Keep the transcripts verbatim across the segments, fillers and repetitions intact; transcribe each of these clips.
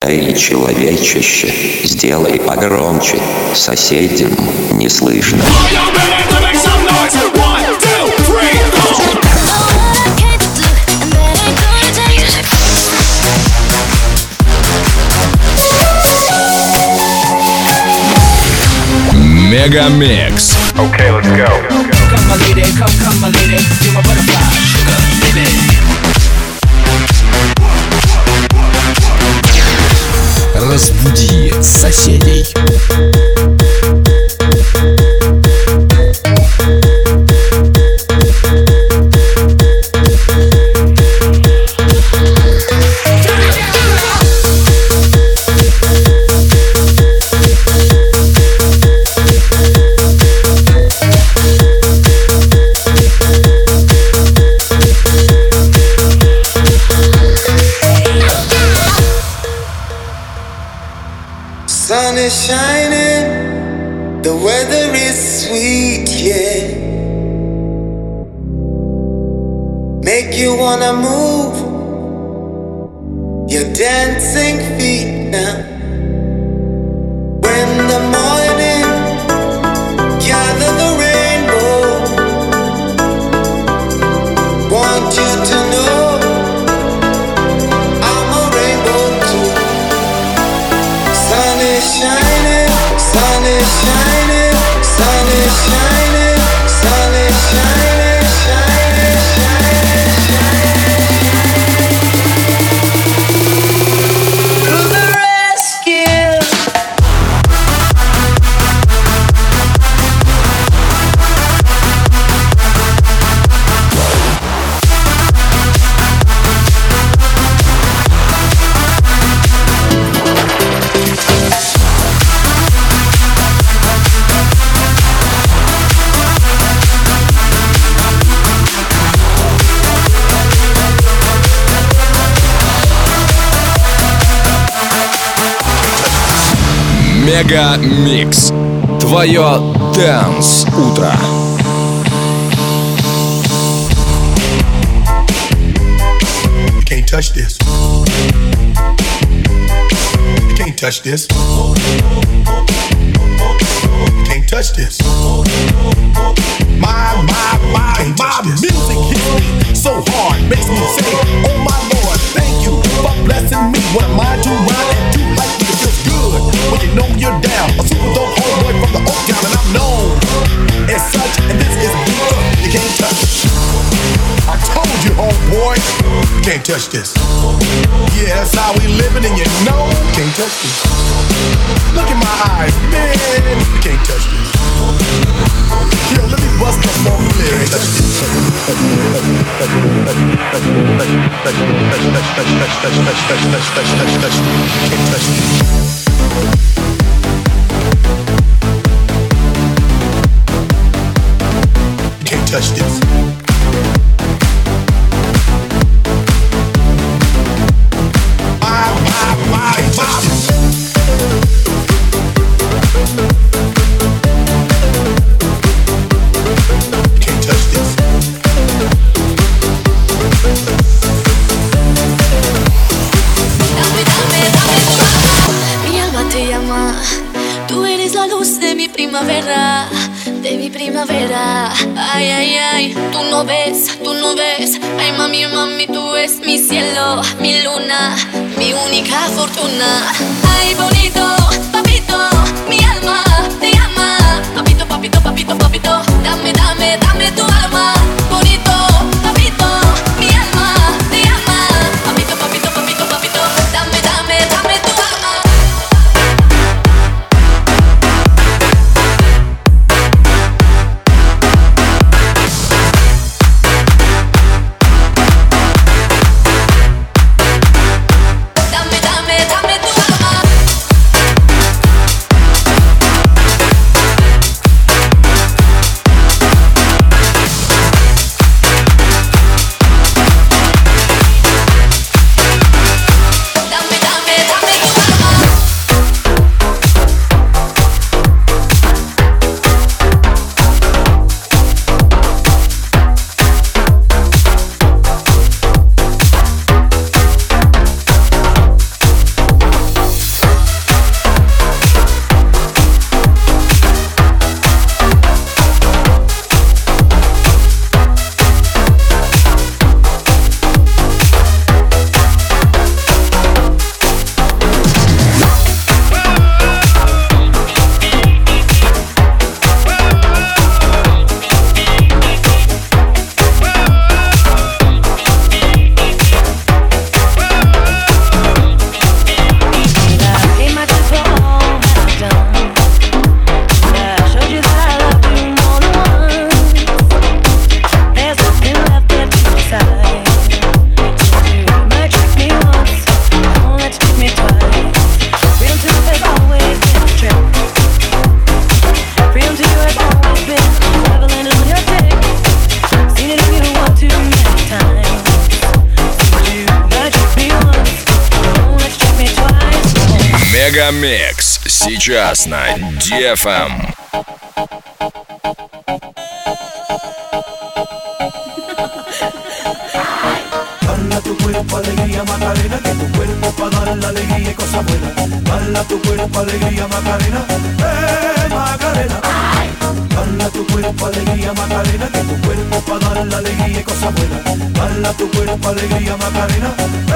Эй, человечище, сделай погромче, соседям не слышно. Мегамикс. Okay, let's go. Come my lady, come, come my lady, you're my butterfly, sugar, baby. Разбуди соседей. Sun is shining, the weather is sweet, yeah. Make you wanna move your dancing feet now. When the morning gather the rainbow, want you to know I'm a rainbow too. Sun is shining, sun is shining, sun is shining, sun is shining, shining, shining, shining. To the rescue. Мегамикс. Твое Dance утро. You can't touch this. You can't touch this. You can't touch this. My, my, my, my music hits me so hard, makes me say, oh my Lord, thank you for blessing me. What am I to rhyme and do like me? It feels good when you know you're down. A super dope homeboy from the Oak Town, and I'm known as such. And this is beat up. You can't touch it. I told you, homeboy, you can't touch this. Yeah, that's how we living, and you know you can't touch this. Look in my eyes, man, you can't touch this. Yo, let me bust up more lyrics. Can't touch this. Can't touch this. My, my, my, can't touch this. Can't touch this. Dame, dame, dame tu alma. Mi alma te llama. Tú eres la luz de mi primavera, de mi primavera. Ay, ay, ay. Tú no ves, tú no ves. Ay, mami, mami, tú eres mi cielo, mi luna, mi única fortuna. Ay, bonito, papito, mi alma te llama. Papito, papito, papito, papito. Dame, dame, dame tu alma. Bonito, papito, mi alma te llama. Papito, papito, papito, papito. Dame, dame, dame tu alma. Dame, dame, dame tu alma. Мегамикс сейчас на ди эф эм. Dala tu cuerpo alegría Macarena, que tu cuerpo pa' dar la alegría y cosas buenas. Dala tu cuerpo alegría Macarena, eh Macarena. Dala tu cuerpo alegría Macarena, que tu cuerpo pa' dar la alegría y cosas buenas. Dala tu cuerpo alegría Macarena,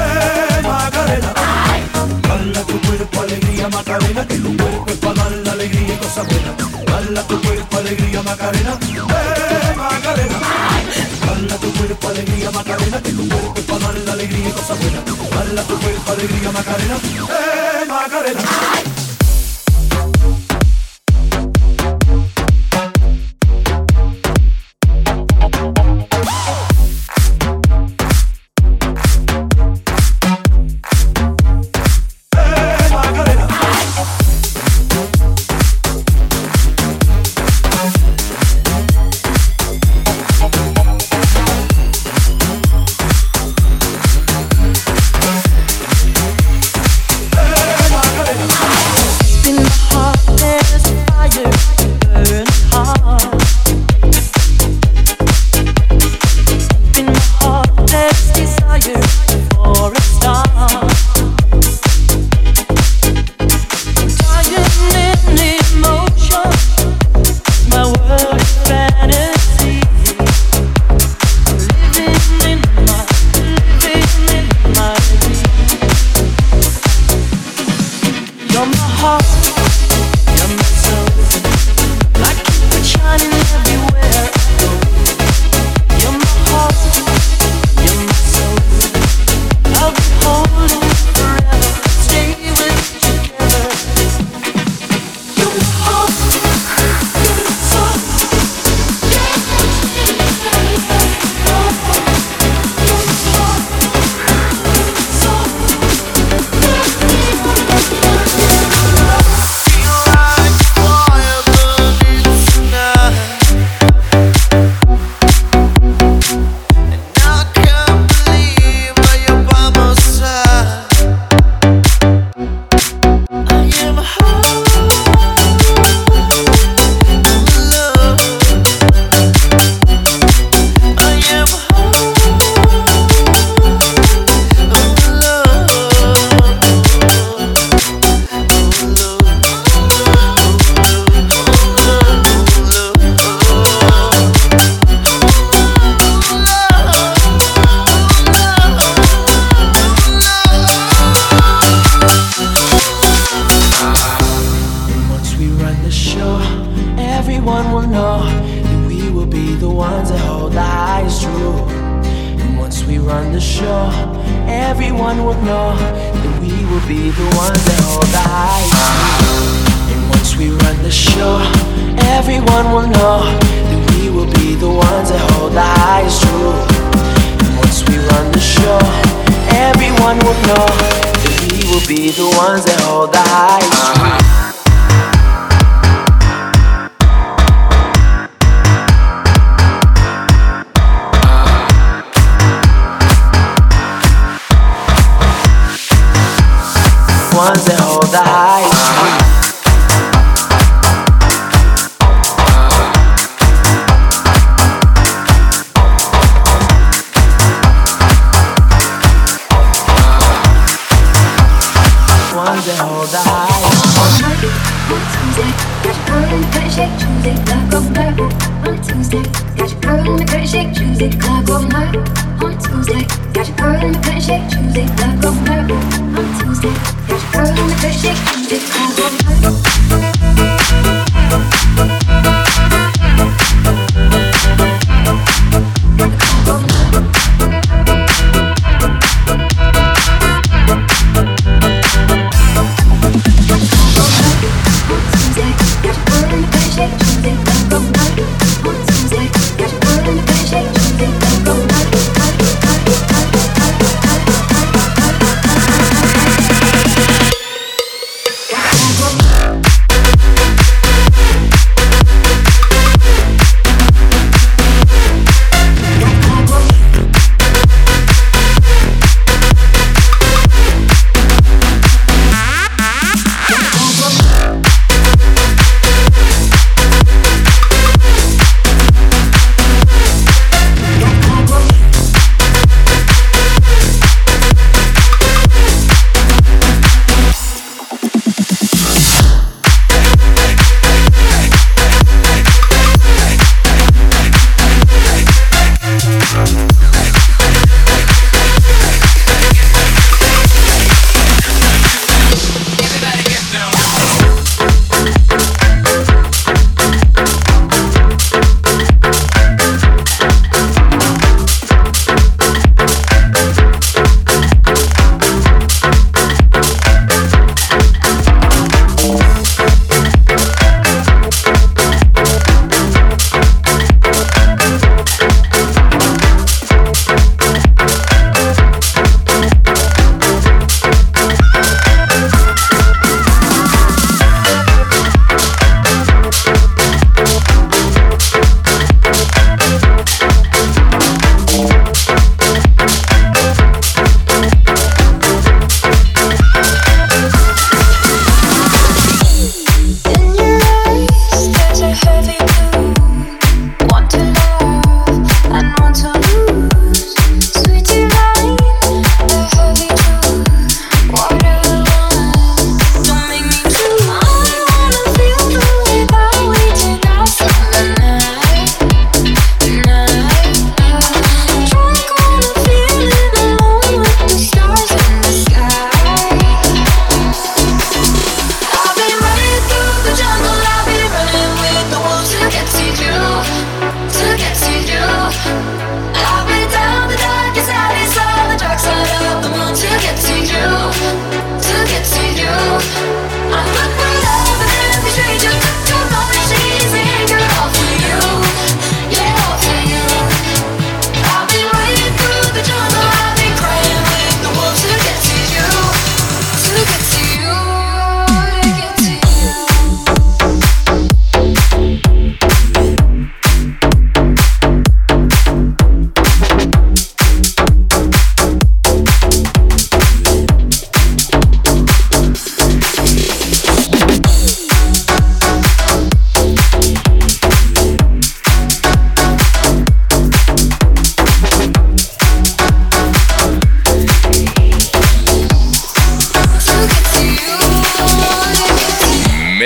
eh Macarena. Dala tu cuerpo alegría Macarena, que tu cuerpo es pa' dar la alegría y cosas buenas. Dala tu cuerpo alegría Macarena, eh Macarena. Dala tu cuerpo alegría Macarena, que tu cuerpo es pa' dar la alegría y cosas buenas. Dala tu cuerpo alegría Macarena, eh Macarena. Come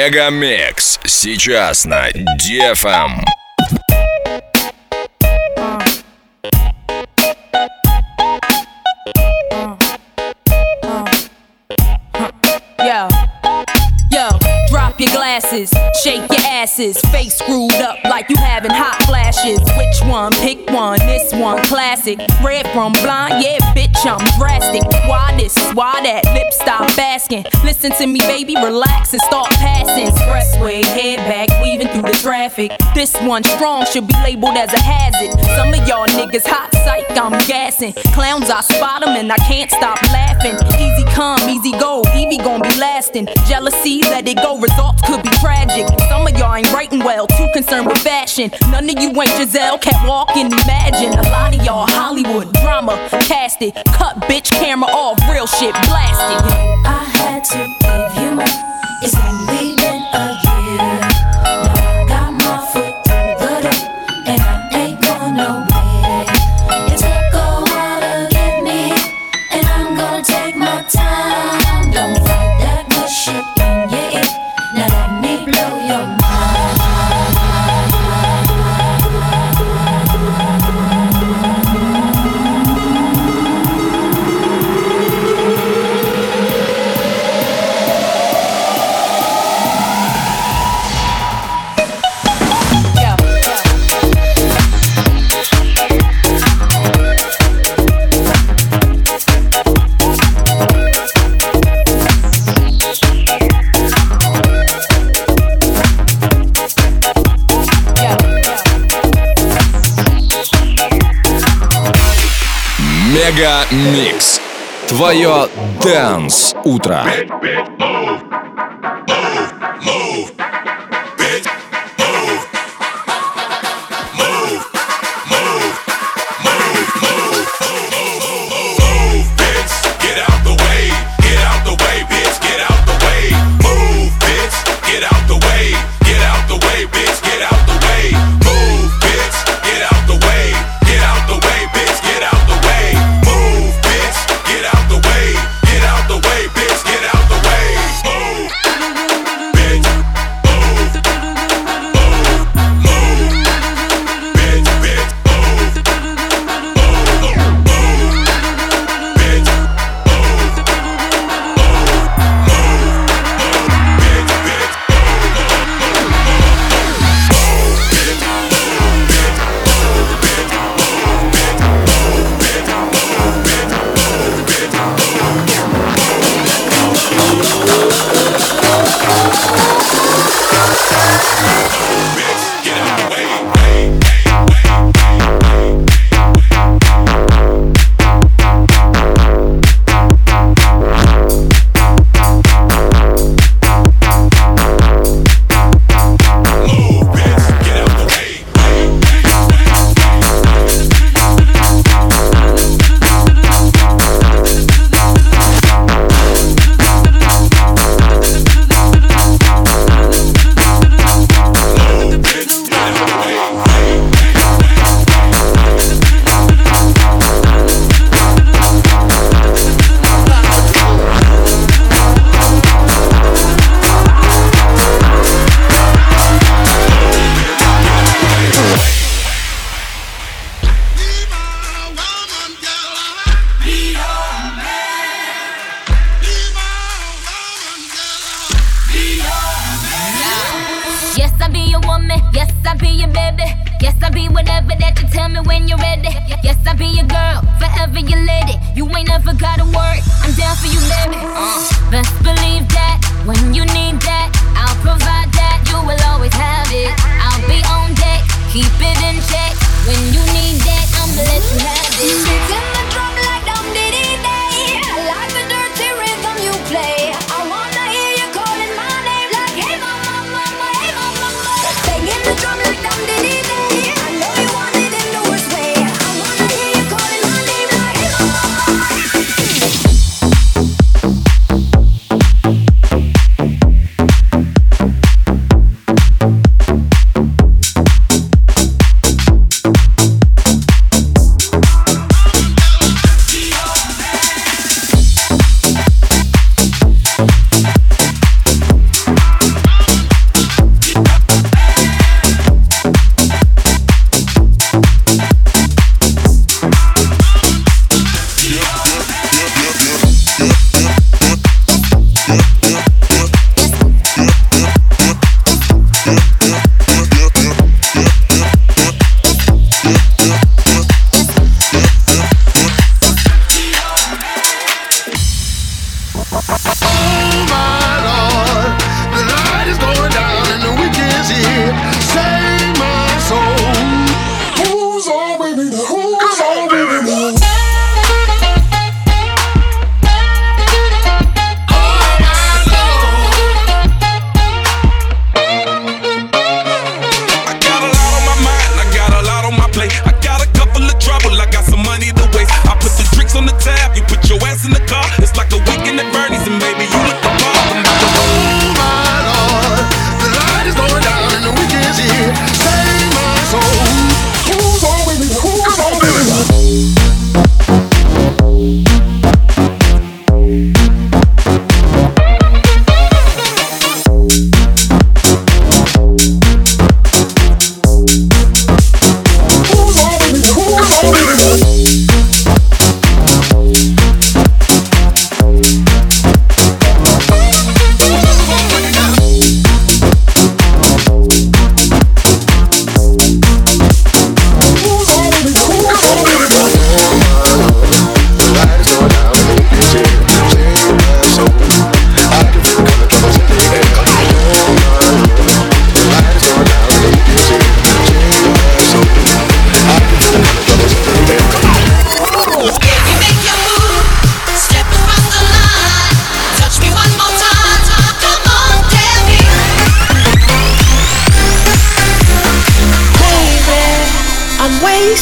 Мегамикс сейчас на ди эф эм. Yo, yo, drop your glasses, shake your asses, face screwed up like you having hot flashes. Which one? Pick one, this one classic. Red from blind, yeah, bitch, I'm drastic. Why this? Why that? Lip stop asking. Listen to me, baby, relax and start passing. Expressway, head back, weaving through the traffic. This one strong should be labeled as a hazard. Some of y'all niggas hot psych, I'm gassing. Clowns, I spot them and I can't stop laughing. Easy come, easy go, Evie gon' be lasting. Jealousy, let it go, results could be tragic. Some of y'all ain't writing well, too concerned with fashion. None of you ain't Giselle, can't walk and imagine. A lot of y'all Hollywood drama, cast it. Cut bitch camera off, real shit blasted. I had to give you more. It's only been a year. Now I got my foot through the door, and I ain't going nowhere. It took a while to get me, and I'm gonna take my time. Don't fight that good shit in your ear. Now let me blow your mind. Мегамикс. Твое Dance утро.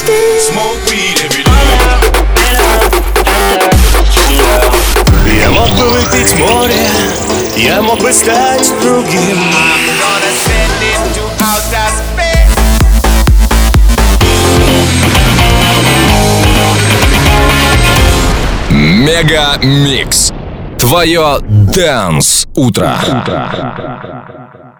Smoke weed every day. Я мог бы выпить море, я мог бы стать другим. I'm gonna send him to outer space. Мега Микс. Твое Dance утро.